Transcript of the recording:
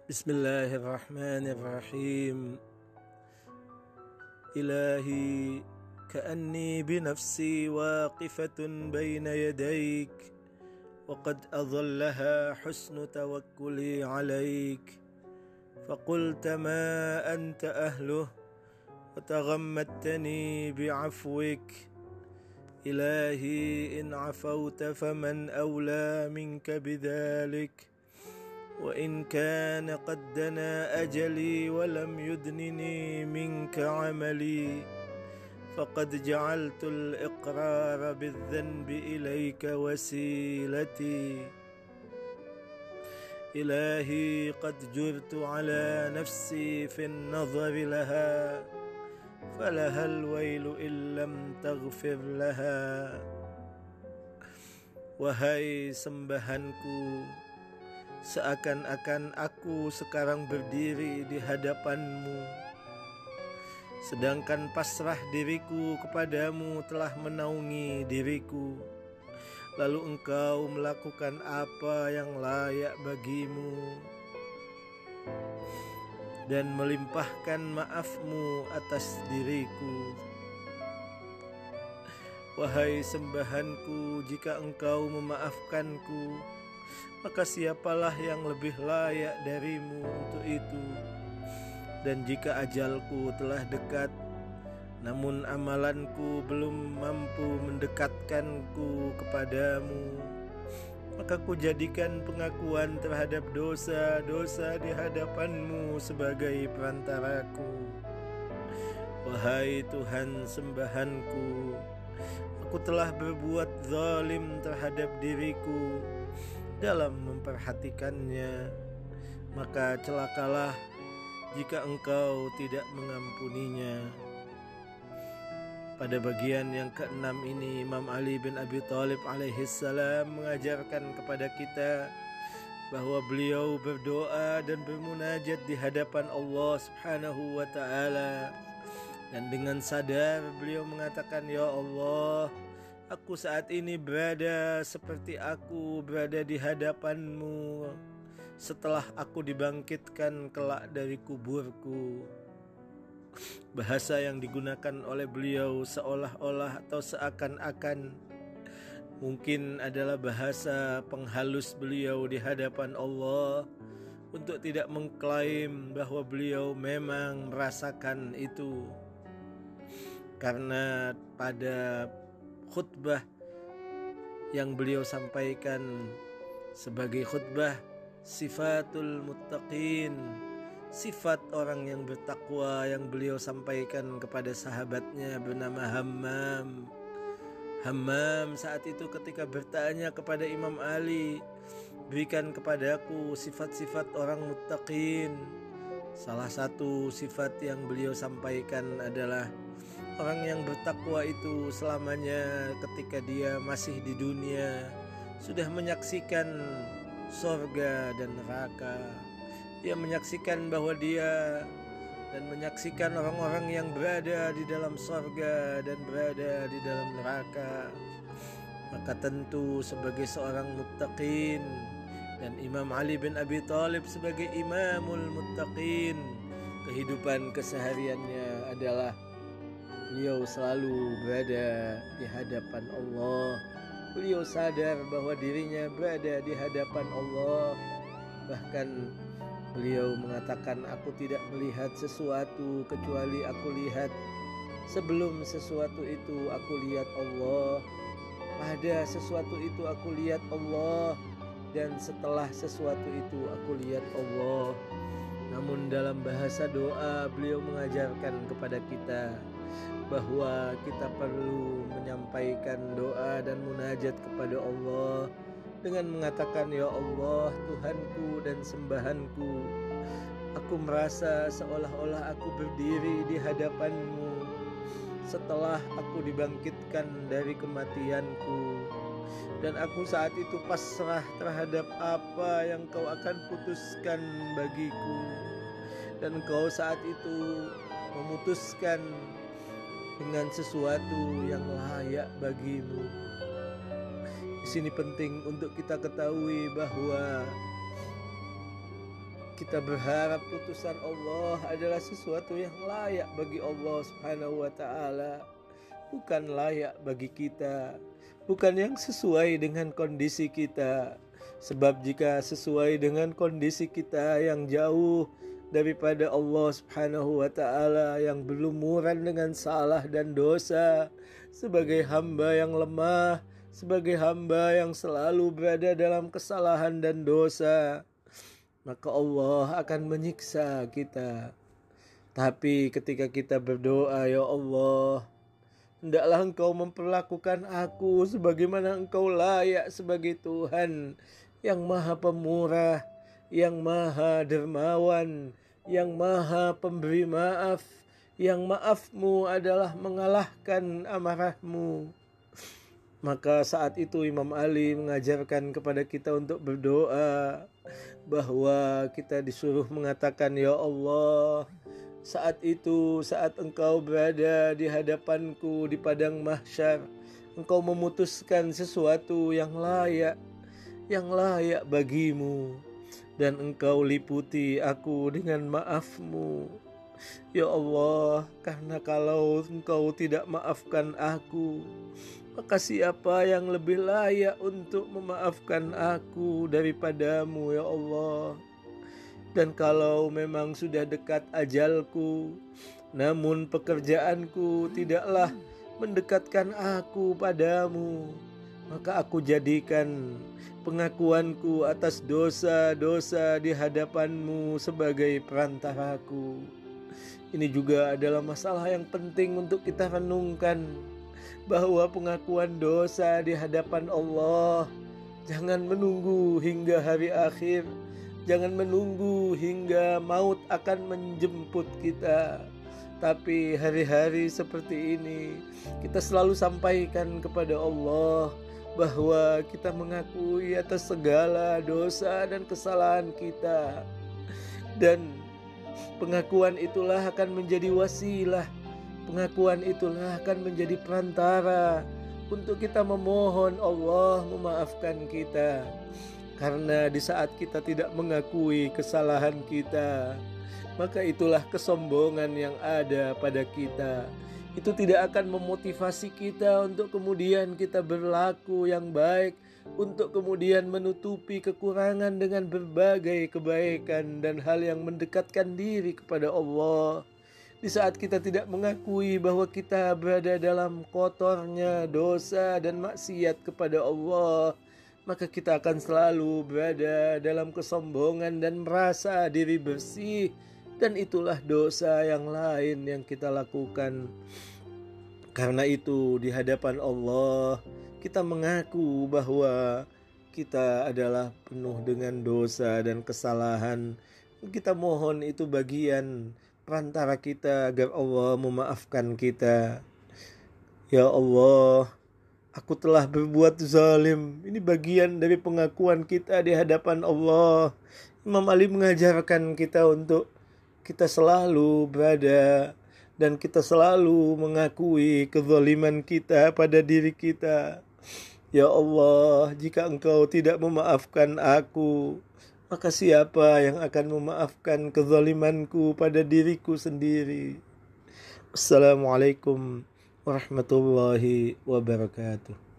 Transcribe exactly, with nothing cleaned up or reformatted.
Bismillahirrahmanirrahim. Ilahi ka'anni binafsi waqifatun baina yadayk wa qad adhallaha husnu tawakkuli alayk faqulta ma anta ahluh wa taghammadtani bi'afwik. Ilahi in afawta faman awla minka bidhalik وإن كان قد دنا أجلي ولم يدنني منك عملي فقد جعلت الإقرار بالذنب إليك وسيلتي. إلهي قد جرت على نفسي في النظر لها فلها الويل إن لم تغفر لها. Wahai sembahanku, seakan-akan aku sekarang berdiri di hadapanmu, sedangkan pasrah diriku kepadamu telah menaungi diriku. Lalu engkau melakukan apa yang layak bagimu dan melimpahkan maafmu atas diriku. Wahai sembahanku, jika engkau memaafkanku, maka siapalah yang lebih layak darimu untuk itu. Dan jika ajalku telah dekat, namun amalanku belum mampu mendekatkanku kepadamu, maka ku jadikan pengakuan terhadap dosa-dosa di hadapanmu sebagai perantaraku. Wahai Tuhan sembahanku, aku telah berbuat zalim terhadap diriku dalam memperhatikannya, maka celakalah jika engkau tidak mengampuninya. Pada bagian yang keenam ini, Imam Ali bin Abi Thalib alaihi salam mengajarkan kepada kita bahwa beliau berdoa dan bermunajat di hadapan Allah Subhanahu wa taala, dan dengan sadar beliau mengatakan, ya Allah, aku saat ini berada seperti aku berada di hadapanmu setelah aku dibangkitkan kelak dari kuburku. Bahasa yang digunakan oleh beliau seolah-olah atau seakan-akan mungkin adalah bahasa penghalus beliau di hadapan Allah untuk tidak mengklaim bahwa beliau memang merasakan itu. Karena pada khutbah yang beliau sampaikan sebagai khutbah sifatul muttaqin, sifat orang yang bertakwa, yang beliau sampaikan kepada sahabatnya bernama Hammam. Hammam saat itu ketika bertanya kepada Imam Ali, berikan kepadaku sifat-sifat orang muttaqin, salah satu sifat yang beliau sampaikan adalah orang yang bertakwa itu selamanya ketika dia masih di dunia sudah menyaksikan sorga dan neraka. Dia menyaksikan bahwa dia dan menyaksikan orang-orang yang berada di dalam sorga dan berada di dalam neraka. Maka tentu sebagai seorang muttaqin, dan Imam Ali bin Abi Thalib sebagai imamul muttaqin, kehidupan kesehariannya adalah beliau selalu berada di hadapan Allah. Beliau sadar bahwa dirinya berada di hadapan Allah. Bahkan beliau mengatakan, aku tidak melihat sesuatu kecuali aku lihat sebelum sesuatu itu aku lihat Allah. Pada sesuatu itu aku lihat Allah, dan setelah sesuatu itu aku lihat Allah. Namun dalam bahasa doa beliau mengajarkan kepada kita bahwa kita perlu menyampaikan doa dan munajat kepada Allah dengan mengatakan, ya Allah, Tuhanku dan sembahanku, aku merasa seolah-olah aku berdiri di hadapanmu setelah aku dibangkitkan dari kematianku, dan aku saat itu pasrah terhadap apa yang kau akan putuskan bagiku, dan kau saat itu memutuskan dengan sesuatu yang layak bagimu. Di sini penting untuk kita ketahui bahwa kita berharap putusan Allah adalah sesuatu yang layak bagi Allah Subhanahu wa ta'ala, bukan layak bagi kita, bukan yang sesuai dengan kondisi kita. Sebab jika sesuai dengan kondisi kita yang jauh daripada Allah Subhanahu wa ta'ala, yang berlumuran dengan salah dan dosa, sebagai hamba yang lemah, sebagai hamba yang selalu berada dalam kesalahan dan dosa, maka Allah akan menyiksa kita. Tapi ketika kita berdoa, ya Allah, hendaklah Engkau memperlakukan aku sebagaimana Engkau layak sebagai Tuhan yang maha pemurah, yang maha dermawan, yang maha pemberi maaf, yang maafmu adalah mengalahkan amarahmu. Maka saat itu Imam Ali mengajarkan kepada kita untuk berdoa, bahwa kita disuruh mengatakan, ya Allah, saat itu, saat Engkau berada di hadapanku di padang mahsyar, Engkau memutuskan sesuatu yang layak, yang layak bagimu, dan Engkau liputi aku dengan maafmu. Ya Allah, karena kalau Engkau tidak maafkan aku, maka siapa yang lebih layak untuk memaafkan aku daripadamu, ya Allah. Dan kalau memang sudah dekat ajalku, namun pekerjaanku tidaklah mendekatkan aku padamu, maka aku jadikan pengakuanku atas dosa-dosa di hadapanmu sebagai perantaraku. Ini juga adalah masalah yang penting untuk kita renungkan, bahwa pengakuan dosa di hadapan Allah jangan menunggu hingga hari akhir, jangan menunggu hingga maut akan menjemput kita. Tapi hari-hari seperti ini kita selalu sampaikan kepada Allah bahwa kita mengakui atas segala dosa dan kesalahan kita, dan pengakuan itulah akan menjadi wasilah, pengakuan itulah akan menjadi perantara untuk kita memohon Allah memaafkan kita. Karena di saat kita tidak mengakui kesalahan kita, maka itulah kesombongan yang ada pada kita. Itu tidak akan memotivasi kita untuk kemudian kita berlaku yang baik, untuk kemudian menutupi kekurangan dengan berbagai kebaikan dan hal yang mendekatkan diri kepada Allah. Di saat kita tidak mengakui bahwa kita berada dalam kotornya dosa dan maksiat kepada Allah, maka kita akan selalu berada dalam kesombongan dan merasa diri bersih. Dan itulah dosa yang lain yang kita lakukan. Karena itu di hadapan Allah kita mengaku bahwa kita adalah penuh dengan dosa dan kesalahan. Kita mohon itu bagian perantara kita agar Allah memaafkan kita. Ya Allah, aku telah berbuat zalim. Ini bagian dari pengakuan kita di hadapan Allah. Imam Ali mengajarkan kita untuk kita selalu berada dan kita selalu mengakui kezaliman kita pada diri kita. Ya Allah, jika Engkau tidak memaafkan aku, maka siapa yang akan memaafkan kezalimanku pada diriku sendiri? Assalamualaikum warahmatullahi wabarakatuh.